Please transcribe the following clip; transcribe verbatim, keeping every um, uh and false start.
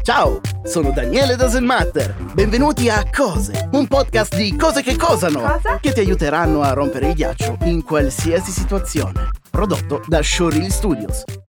Ciao, sono Daniele Doesn't Matter. Benvenuti a Cose, un podcast di cose che cosano, Cosa? che ti aiuteranno a rompere il ghiaccio in qualsiasi situazione. Prodotto da Showreel Studios.